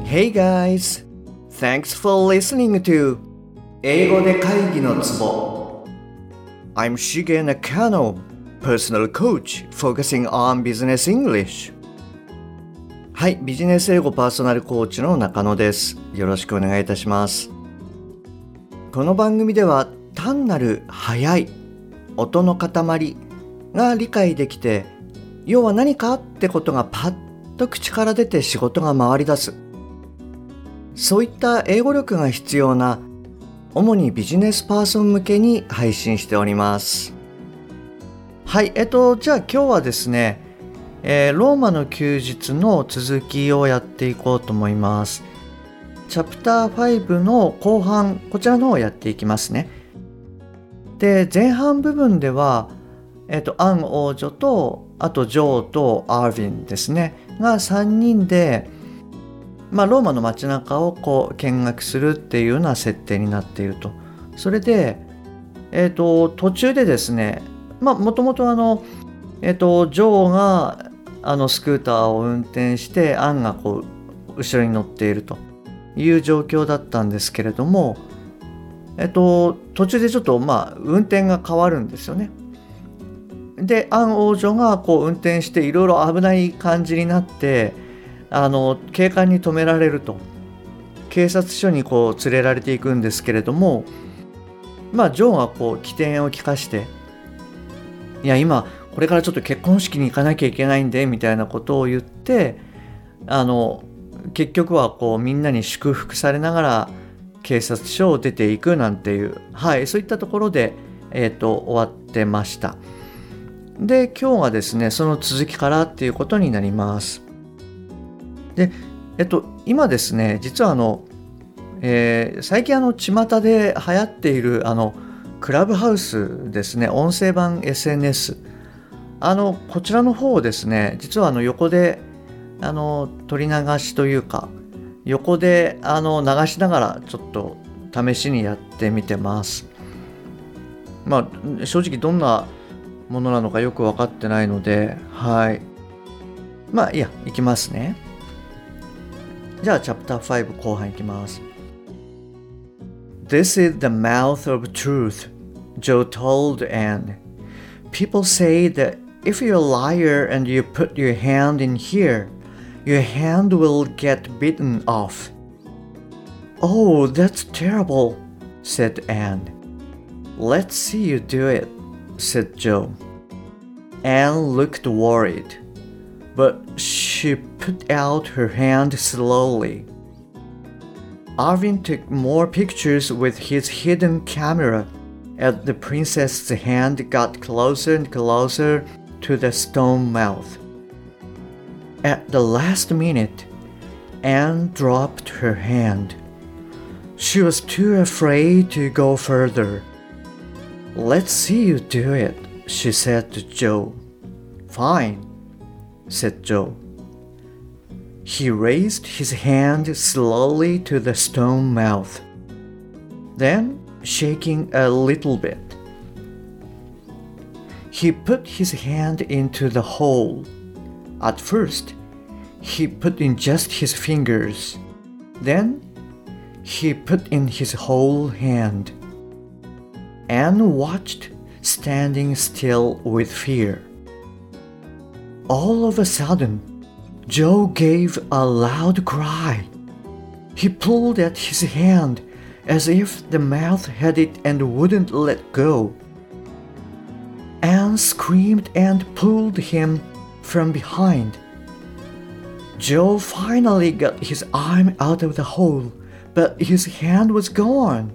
Hey guys! Thanks for listening to 英語で会議のツボ I'm Shige Nakano, personal coach focusing on business English. はい、ビジネス英語パーソナルコーチの中野です。よろしくお願いいたします。この番組では単なる速い音の塊が理解できて、要は何かってことがパッと口から出て仕事が回り出す。そういった英語力が必要な主にビジネスパーソン向けに配信しております。はい、じゃあ今日はですね、ローマの休日の続きをやっていこうと思います。チャプター5の後半、こちらの方をやっていきますね。で、前半部分では、アン王女と、あとジョーとアーヴィンですね、が3人で、ローマの街中を見学するっていうような設定になっていると。それで、途中でですね、もともとジョーがスクーターを運転してアンが後ろに乗っているという状況だったんですけれども、途中でちょっと運転が変わるんですよね。で、アン王女が運転していろいろ危ない感じになって警官に止められると、警察署に連れられていくんですけれども、ジョーが機転を利かして、いや今これからちょっと結婚式に行かなきゃいけないんでみたいなことを言って、結局はみんなに祝福されながら警察署を出ていくなんていう、そういったところで、終わってました。で、今日はですね、その続きからっていうことになります。で、今ですね、実は最近巷で流行っているクラブハウスですね、音声版 SNS、こちらの方をですね、実は横で取り流しというか、横で流しながらちょっと試しにやってみてます。正直どんなものなのかよく分かってないので、いや、いきますね。じゃあチャプター5後半いきます。This is the mouth of truth, Joe told Anne. People say that if you're a liar and you put your hand in here, your hand will get bitten off. Oh, that's terrible, said Anne. Let's see you do it, said Joe. Anne looked worried, but she put out her hand slowly. Arvin took more pictures with his hidden camera as the princess's hand got closer and closer to the stone mouth. At the last minute, Anne dropped her hand. She was too afraid to go further. Let's see you do it, she said to Joe. Fine, said Joe. He raised his hand slowly to the stone mouth, then shaking a little bit. He put his hand into the hole. At first, he put in just his fingers. Then, he put in his whole hand. Anne watched, standing still with fear. All of a sudden, Joe gave a loud cry. He pulled at his hand as if the mouth had it and wouldn't let go. Anne screamed and pulled him from behind. Joe finally got his arm out of the hole, but his hand was gone.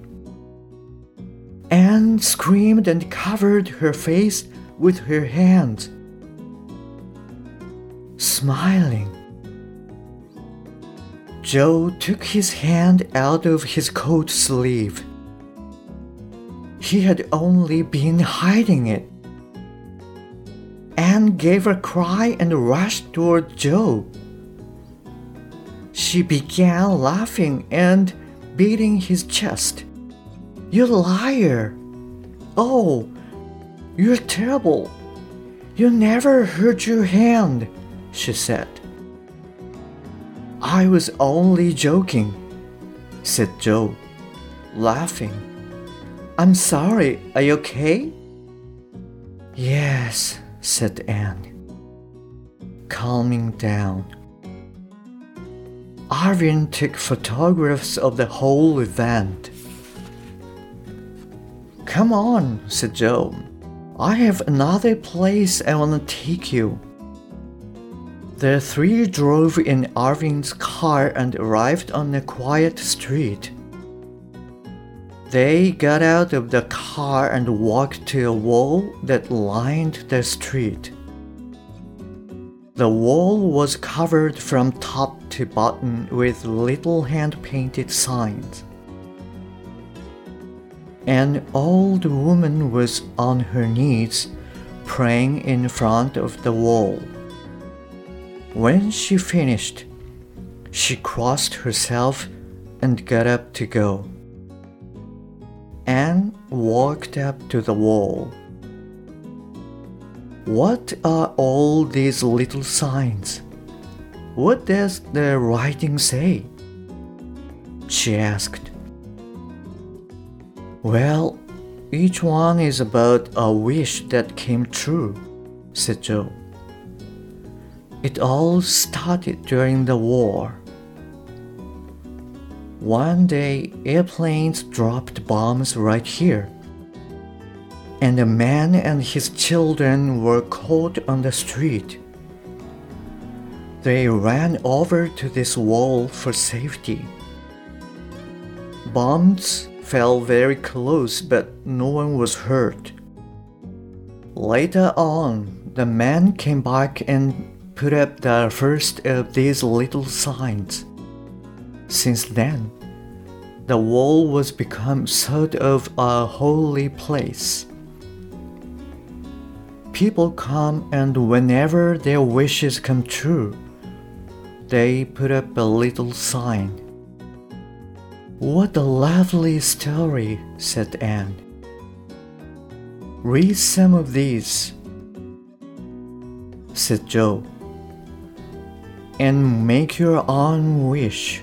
Anne screamed and covered her face with her hands. Smiling, Joe took his hand out of his coat sleeve. He had only been hiding it. Anne gave a cry and rushed toward Joe. She began laughing and beating his chest. You liar! Oh, you're terrible! You never hurt your hand, she said. I was only joking, said Joe, laughing. I'm sorry, are you okay? Yes, said Anne, calming down. Arvin took photographs of the whole event. Come on, said Joe. I have another place I want to take you. The three drove in Arvin's car and arrived on a quiet street. They got out of the car and walked to a wall that lined the street. The wall was covered from top to bottom with little hand-painted signs. An old woman was on her knees, praying in front of the wall. When she finished, she crossed herself and got up to go. Anne walked up to the wall. What are all these little signs? What does the writing say? She asked. Well, each one is about a wish that came true, said Joe. It all started during the war. One day, airplanes dropped bombs right here, and a man and his children were caught on the street. They ran over to this wall for safety. Bombs fell very close, but no one was hurt. Later on, the man came back and put up the first of these little signs. Since then, the wall was become sort of a holy place. People come, and whenever their wishes come true, they put up a little sign. What a lovely story, said Anne. Read some of these, said Joe, and make your own wish.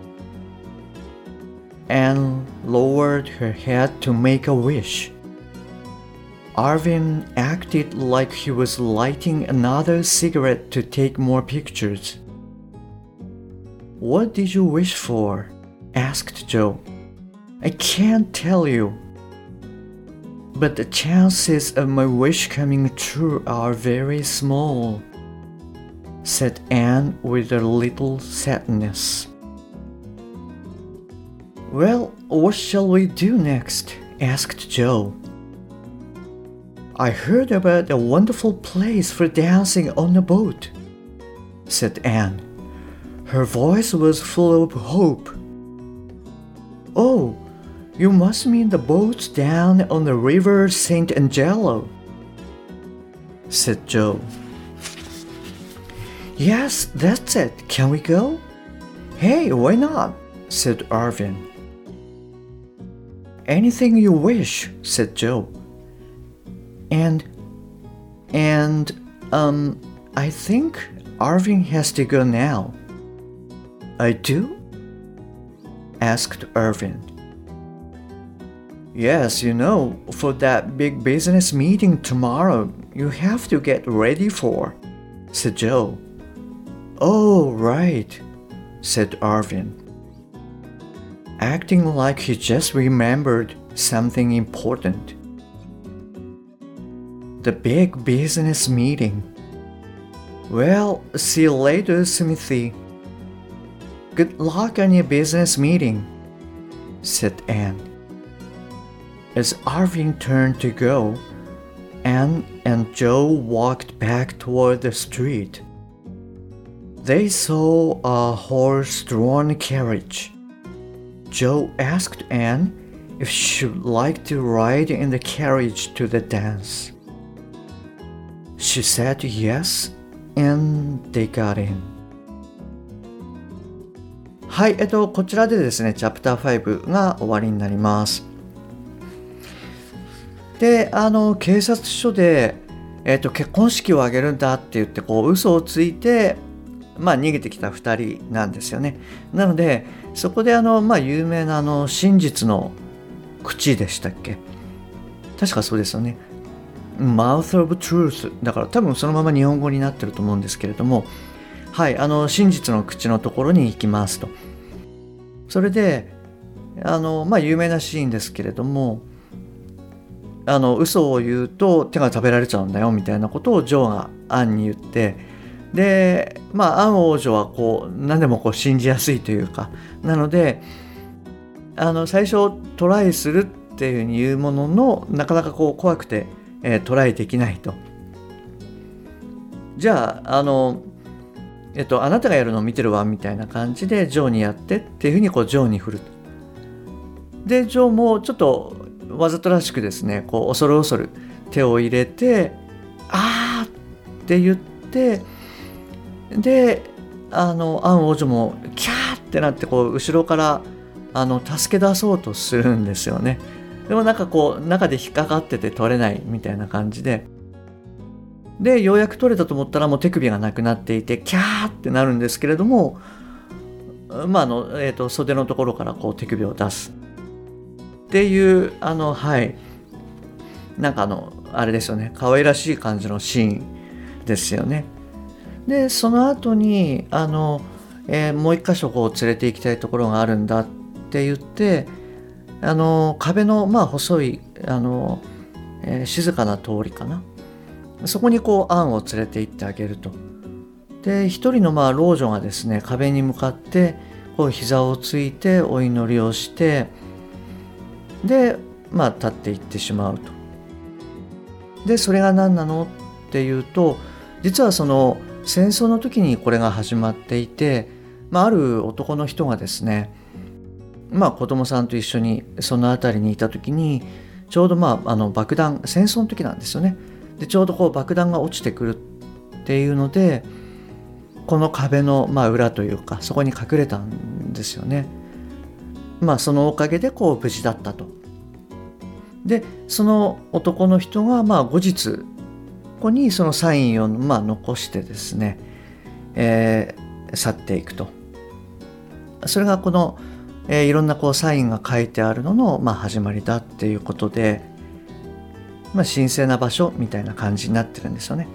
Anne lowered her head to make a wish. Arvin acted like he was lighting another cigarette to take more pictures. What did you wish for? Asked Joe. I can't tell you. But the chances of my wish coming true are very small, said Anne with a little sadness. Well, what shall we do next? Asked Joe. I heard about a wonderful place for dancing on a boat, said Anne. Her voice was full of hope. Oh, you must mean the boats down on the river St. Angelo, said Joe. Yes, that's it. Can we go? Hey, why not? Said Arvin. Anything you wish, said Joe. And I think Arvin has to go now. I do? Asked Irvin. Yes, you know, for that big business meeting tomorrow, you have to get ready for, said Joe. Oh, right, said Arvin, acting like he just remembered something important. The big business meeting. Well, see you later, Smithy. Good luck on your business meeting, said Anne. As Arvin turned to go, Anne and Joe walked back toward the street. They saw a horse-drawn carriage. Joe asked Anne if she would like to ride in the carriage to the dance. She said yes, and they got in. はい、こちらでですね、チャプター5が終わりになります。で、警察署で、結婚式を挙げるんだって言って、嘘をついて、 逃げてきた2人なんですよね。なのでそこで有名な真実の口でしたっけ、確かそうですよね。Mouth of Truth だから多分そのまま日本語になってると思うんですけれども、はい、真実の口のところに行きますと。それで有名なシーンですけれども、嘘を言うと手が食べられちゃうんだよみたいなことをジョーがアンに言って、でアン王女は何でも信じやすいというか、なので最初トライするっていうふうに言うものの、なかなか怖くて、トライできないと。じゃああなたがやるのを見てるわみたいな感じでジョーにやってっていうふうにジョーに振ると。でジョーもちょっとわざとらしくですね、恐る恐る手を入れてあーって言って、でアン王女もキャーってなって後ろから助け出そうとするんですよね。でも中で引っかかってて取れないみたいな感じで、ようやく取れたと思ったらもう手首がなくなっていてキャーってなるんですけれども、袖のところから手首を出すっていうあれですよね、可愛らしい感じのシーンですよね。でその後にもう一箇所連れて行きたいところがあるんだって言って、壁の細い静かな通りかな、そこにアンを連れて行ってあげると。で一人の老女がですね、壁に向かって膝をついてお祈りをして、で立っていってしまうと。でそれが何なのっていうと、実はその戦争の時にこれが始まっていて、ある男の人がですね、子供さんと一緒にその辺りにいた時に、ちょうど爆弾、戦争の時なんですよね。でちょうど爆弾が落ちてくるっていうので、この壁の裏というかそこに隠れたんですよね。そのおかげで無事だったと。でその男の人が後日ここにそのサインを残してですね、去っていくと。それがこの、いろんなサインが書いてあるのの始まりだっていうことで、神聖な場所みたいな感じになってるんですよね。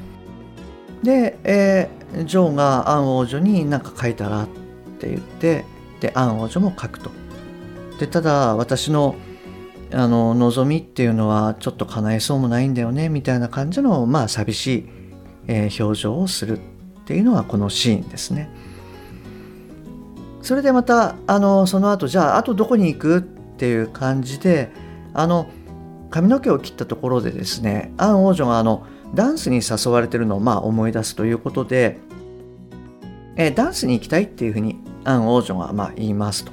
で、ジョーがアン王女に何か書いたらって言って、でアン王女も書くと。でただ私の望みっていうのはちょっと叶えそうもないんだよねみたいな感じの寂しい、表情をするっていうのがこのシーンですね。それでまたその後、じゃああとどこに行くっていう感じで、髪の毛を切ったところでですね、アン王女がダンスに誘われてるのを思い出すということで、ダンスに行きたいっていうふうにアン王女が言いますと。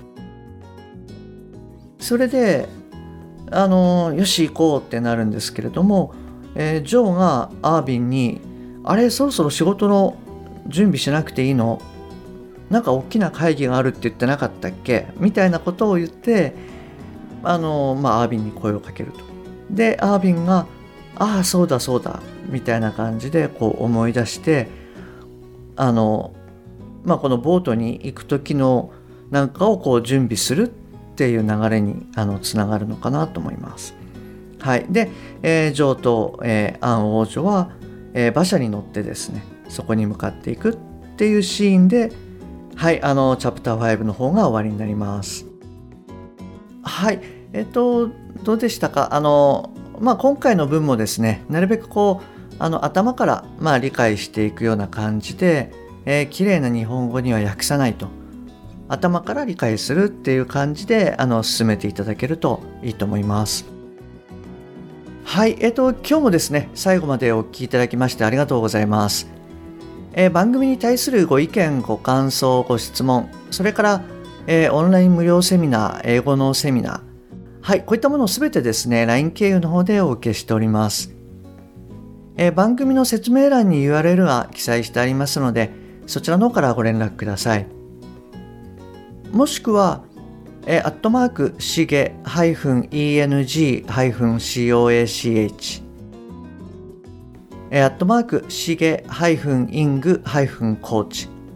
それでよし行こうってなるんですけれども、ジョーがアービンに、あれそろそろ仕事の準備しなくていいの、なんか大きな会議があるって言ってなかったっけみたいなことを言って、アービンに声をかけると。でアービンがああそうだそうだみたいな感じで思い出して、このボートに行く時のなんかを準備するっていう流れにつながるのかなと思います。はい、で、ジョーと、アン王女は、馬車に乗ってですね、そこに向かっていくっていうシーンで、はい、チャプター5の方が終わりになります。はい、どうでしたか。今回の文もですね、なるべく頭から理解していくような感じで、綺麗な日本語には訳さないと。頭から理解するっていう感じで進めていただけるといいと思います。はい、今日もですね、最後までお聞きいただきましてありがとうございます。番組に対するご意見、ご感想、ご質問、それから、オンライン無料セミナー、英語のセミナー、はい、こういったものをすべてですね、LINE 経由の方でお受けしております。番組の説明欄に URL が記載してありますので、そちらの方からご連絡ください。もしくは、しげ-eng-coachしげ-ing-coach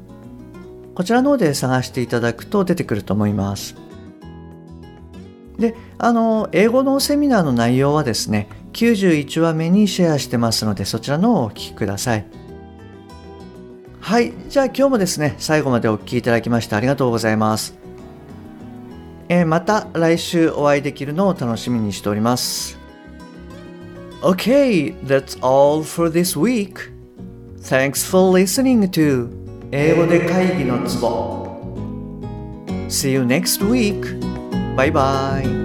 こちらの方で探していただくと出てくると思います。で、英語のセミナーの内容はですね、91話目にシェアしてますので、そちらの方をお聞きください。はい、じゃあ今日もですね、最後までお聞きいただきましてありがとうございます。また来週お会いできるのを楽しみにしております。Okay, that's all for this week. Thanks for listening to 英語で会議のツボ. See you next week. Bye bye.